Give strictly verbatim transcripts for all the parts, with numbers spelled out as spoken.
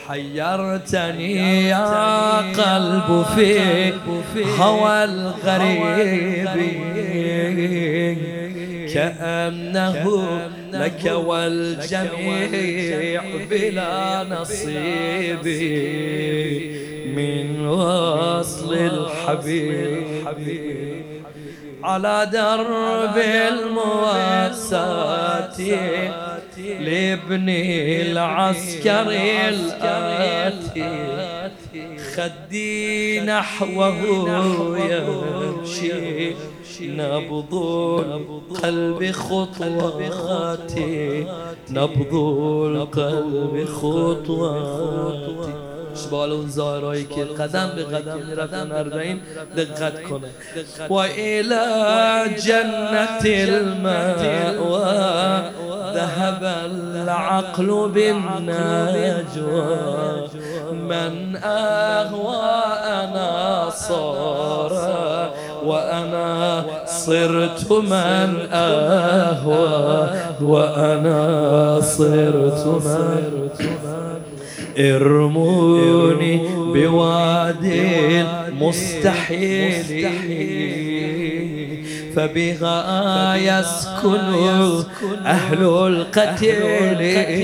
حيرتني يا قلب في هوى الغريب، كأنه لك والجميع بلا نصيب من وصل الحبيب. على درب المواساة لابن العسكر الآتي، خدي نحوه يمشي نبض القلب خطواتي، نبض القلب خطواتي. اشبال اون زهرایی که قدم به قدم میرفتن اربعین دقت کنه. و الى جنة المأوى ذهب العقل بالنجوى، من اهوى انا صار وأنا صرت من أهوى، وأنا صرت من ارموني بوادي المستحيل فبها يسكن أهل القتيل،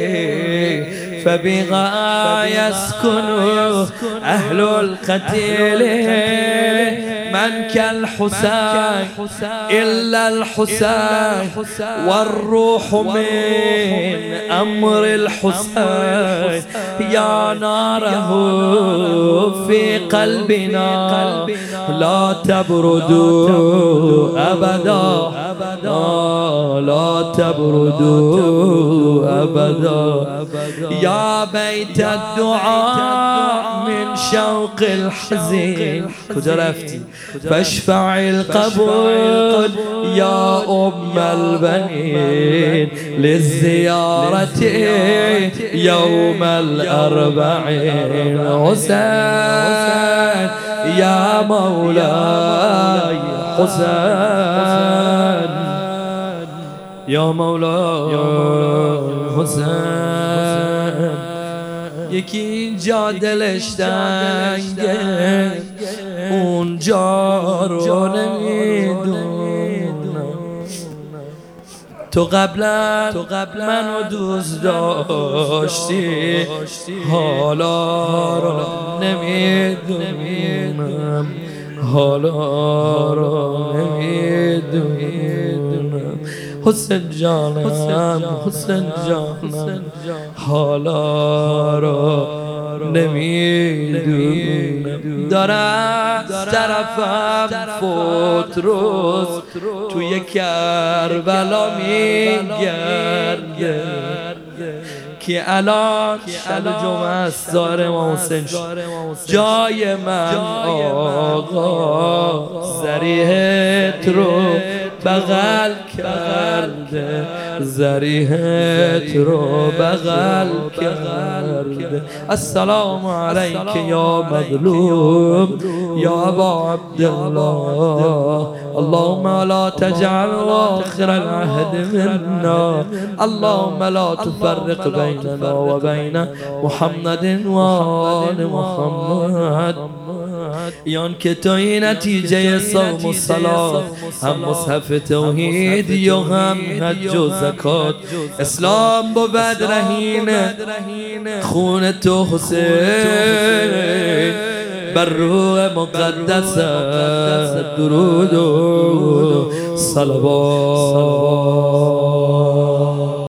فبها يسكن أهل القتيل. من كالحسين إلا الحسين والروح من أمر الحسين، يا ناره في قلبنا لا تبردوا أبدا، لا تبردوا أبدا. يا بيت الدعاء من شوق الحزين كجا رفتي فاشفع القبول يا أم البنين للزيارة يوم الأربعين. حسين يا مولاي حسين يا مولاي حسین. یکی اینجا دلش تنگه اونجا رو نمیدونم، تو قبلا منو دوست داشتی حالا رو نمیدونم، حالا رو نمیدونم. حسین جانم حسین جانم حالا رو نمیدونم. دارم طرفم فوت روز توی کربلا میگرده که الان شب جمعه است ظاهر امام حسین جای من آقا ذریحت رو بغل کرده، ذریحت رو بغل کرده. السلام علیک یا مظلوم یا ابا عبدالله، اللهم لا تجعل آخر العهد منا، اللهم لا تفرق بيننا وبين محمد وآل محمد. یان که توی نتیجه صوم و صلات هم مصحف توحید یا هم حج و زکات اسلام بود رهین خون تو حسین بر روح مقدس درود و صلوات.